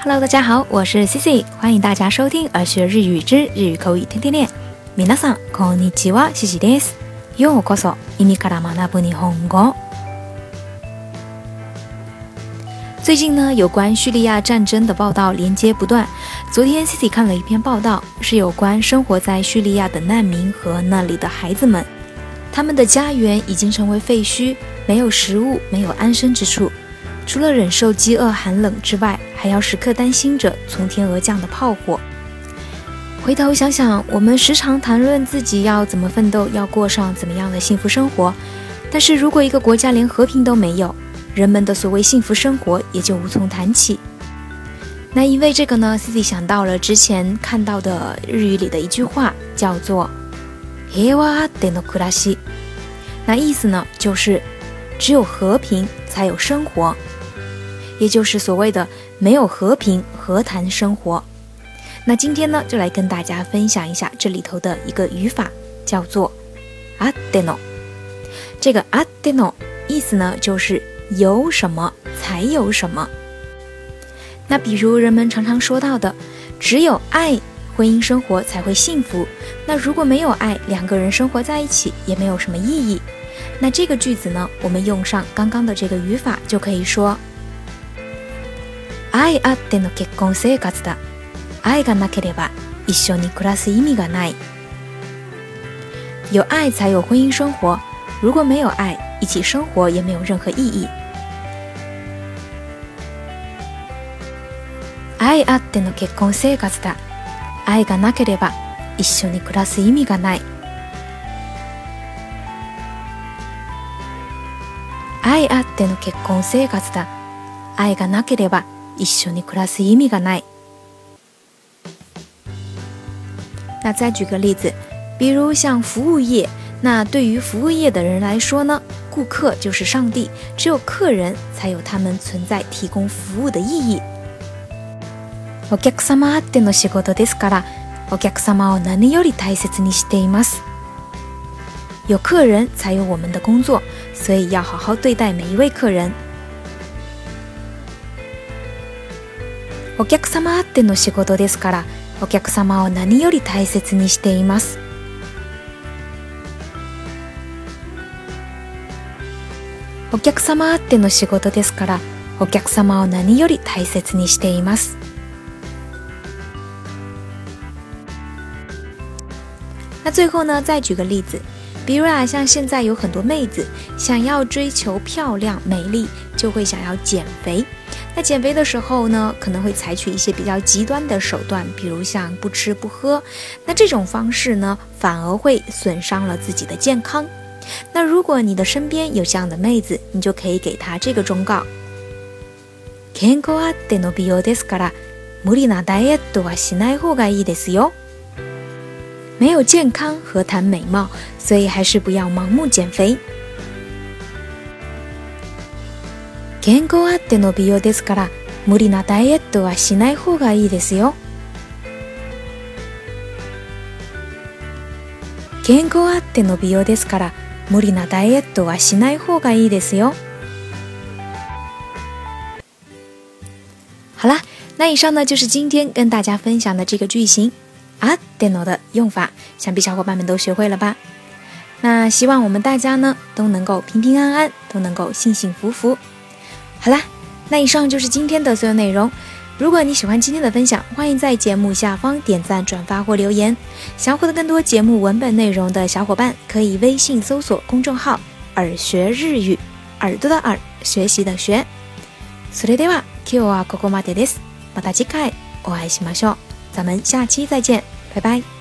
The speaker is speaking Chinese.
Hello， 大家好，我是 Cici， 欢迎大家收听儿学日语之日语口语天天练。皆さんこんにちは、Ciciです。ようこそ耳から学ぶ日本語。最近呢，有关叙利亚战争的报道连接不断。昨天 Cici 看了一篇报道，是有关生活在叙利亚的难民和那里的孩子们，他们的家园已经成为废墟，没有食物，没有安身之处。除了忍受饥饿寒冷之外，还要时刻担心着从天而降的炮火。回头想想，我们时常谈论自己要怎么奋斗，要过上怎么样的幸福生活，但是如果一个国家连和平都没有，人们的所谓幸福生活也就无从谈起。那因为这个呢 Cici 想到了之前看到的日语里的一句话，叫做平和あっての暮らし。那意思呢就是只有和平才有生活，也就是所谓的没有和平何谈生活。那今天呢就来跟大家分享一下这里头的一个语法，叫做あっての。这个あっての意思呢就是有什么才有什么。那比如人们常常说到的，只有爱婚姻生活才会幸福，那如果没有爱，两个人生活在一起也没有什么意义。那这个句子呢，我们用上刚刚的这个语法就可以说愛あっての結婚生活だ。愛がなければ一緒に暮らす意味がない。有爱才有婚姻生活，如果没有爱，一起生活也没有任何意义。愛あっての結婚生活だ。愛がなければ一緒に暮らす意味がない。愛あっての結婚生活だ。愛がなければ一緒に暮らす意味がない。那再举个例子，比如像服务业，那对于服务业的人来说呢，顾客就是上帝，只有客人才有他们存在提供服务的意义。お客様あっての仕事ですから、お客様を何より大切にしています。有客人才有我们的工作，所以要好好对待每一位客人。お客様あっての仕事ですから、お客様を何より大切にしています。お客様あっての仕事ですから、お客様を何より大切にしています。那最后呢，再举个例子，比如像现在有很多妹子想要追求漂亮美丽，就会想要减肥。那减肥的时候呢，可能会采取一些比较极端的手段，比如像不吃不喝。那这種方式呢，反而会损伤了自己的健康。那如果你的身边有这样的妹子，你就可以给她这个忠告：健康あっての美容ですから、無理なダイエットはしない方がいいですよ。没有健康何谈美貌，所以还是不要盲目减肥。健康あっての美容ですから、無理なダイエットはしない方がいいですよ。健康あっての美容ですから、無理なダイエットはしない方がいいですよ。好啦，那以上呢就是今天跟大家分享的这个句型あっての的用法，想必小伙伴们都学会了吧？那希望我们大家呢都能够平平安安，都能够幸幸福福。好啦，那以上就是今天的所有内容。如果你喜欢今天的分享，欢迎在节目下方点赞、转发或留言。想获得更多节目文本内容的小伙伴，可以微信搜索公众号“耳学日语”，耳朵的耳，学习的学。それでは今日はここまでです。また次回お会いしましょう。咱们下期再见，拜拜。